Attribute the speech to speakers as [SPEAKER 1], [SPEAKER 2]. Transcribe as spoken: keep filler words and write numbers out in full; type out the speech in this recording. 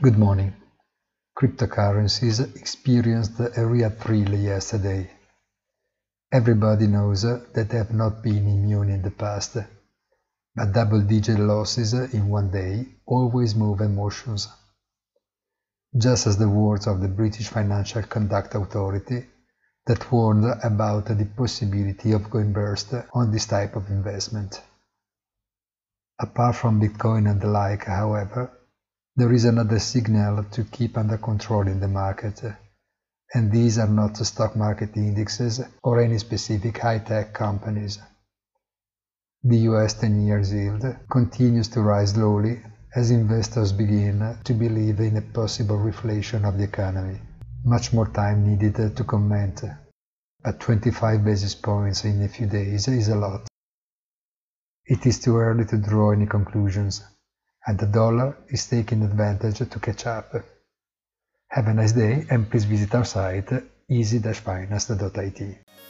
[SPEAKER 1] Good morning. Cryptocurrencies experienced a real thrill yesterday. Everybody knows that they have not been immune in the past, but double-digit losses in one day always move emotions. Just as the words of the British Financial Conduct Authority that warned about the possibility of going burst on this type of investment. Apart from Bitcoin and the like, however, there is another signal to keep under control in the market, and these are not stock market indexes or any specific high-tech companies. The U S ten years yield continues to rise slowly as investors begin to believe in a possible reflation of the economy. Much more time needed to comment, but twenty-five basis points in a few days is a lot. It is too early to draw any conclusions, and the dollar is taking advantage to catch up. Have a nice day and please visit our site easy dash finance dot I T.